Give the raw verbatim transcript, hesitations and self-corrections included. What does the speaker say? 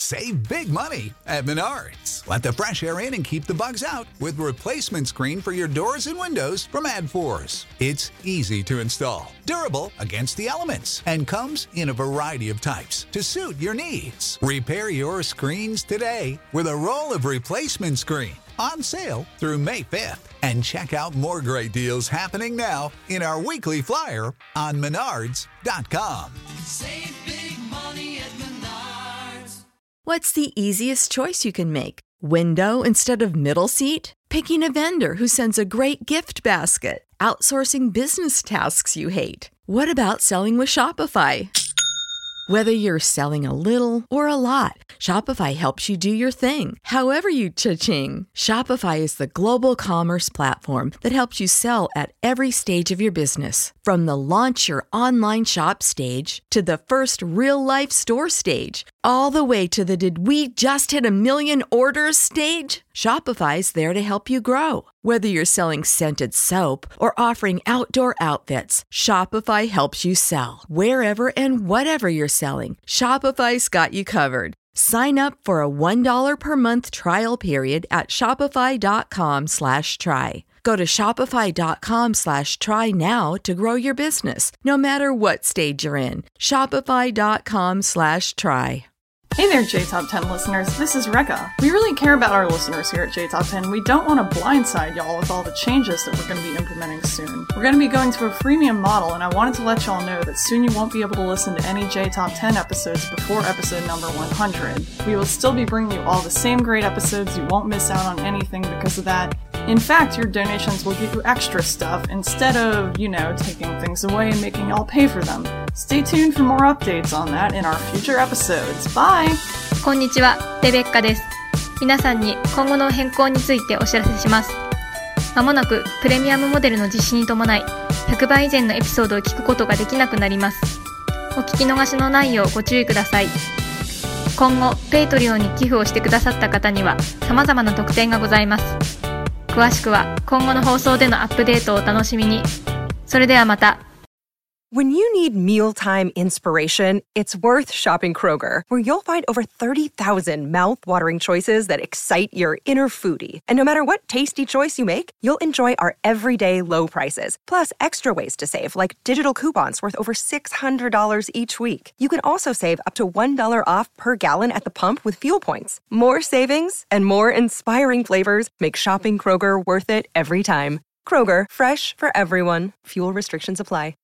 Save big money at Menards. Let the fresh air in and keep the bugs out with replacement screen for your doors and windows from AdForce. It's easy to install, durable against the elements, and comes in a variety of types to suit your needs. Repair your screens today with a roll of replacement screen on sale through May fifth. And check out more great deals happening now in our weekly flyer on menards dot com. Save big money at Menards. What's the easiest choice you can make? Window instead of middle seat? Picking a vendor who sends a great gift basket? Outsourcing business tasks you hate? What about selling with Shopify? Whether you're selling a little or a lot, Shopify helps you do your thing, however you cha-ching. Shopify is the global commerce platform that helps you sell at every stage of your business. From the launch your online shop stage to the first real-life store stage, all the way to the did we just hit a million orders stage. Shopify's there to help you grow. Whether you're selling scented soap or offering outdoor outfits, Shopify helps you sell. Wherever and whatever you're selling, Shopify's got you covered. Sign up for a one dollar per month trial period at shopify.com slash try. Go to shopify.com slash try now to grow your business, no matter what stage you're in. Shopify.com slash try. Hey there, J Top ten listeners. This is Rekka. We really care about our listeners here at J Top ten. We don't want to blindside y'all with all the changes that we're going to be implementing soon. We're going to be going to a freemium model, and I wanted to let y'all know that soon you won't be able to listen to any J Top ten episodes before episode number one hundred. We will still be bringing you all the same great episodes. You won't miss out on anything because of that. In fact, your donations will give you extra stuff instead of, you know, taking things away and making y'all pay for them. Stay tuned for more updates on that in our future episodes. Bye! こんにちは、レベッカです。皆さんに今後の変更についてお知らせします。まもなくプレミアムモデルの実施に伴い、ひゃくばい以前のエピソードを聞くことができなくなります。お聞き逃しのないようご注意ください。今後、ペイトリオンに寄付をしてくださった方には様々な特典がございます。詳しくは今後の放送でのアップデートをお楽しみに。それではまた。 When you need mealtime inspiration, it's worth shopping Kroger, where you'll find over thirty thousand mouth-watering choices that excite your inner foodie. And no matter what tasty choice you make, you'll enjoy our everyday low prices, plus extra ways to save, like digital coupons worth over six hundred dollars each week. You can also save up to one dollar off per gallon at the pump with fuel points. More savings and more inspiring flavors make shopping Kroger worth it every time. Kroger, fresh for everyone. Fuel restrictions apply.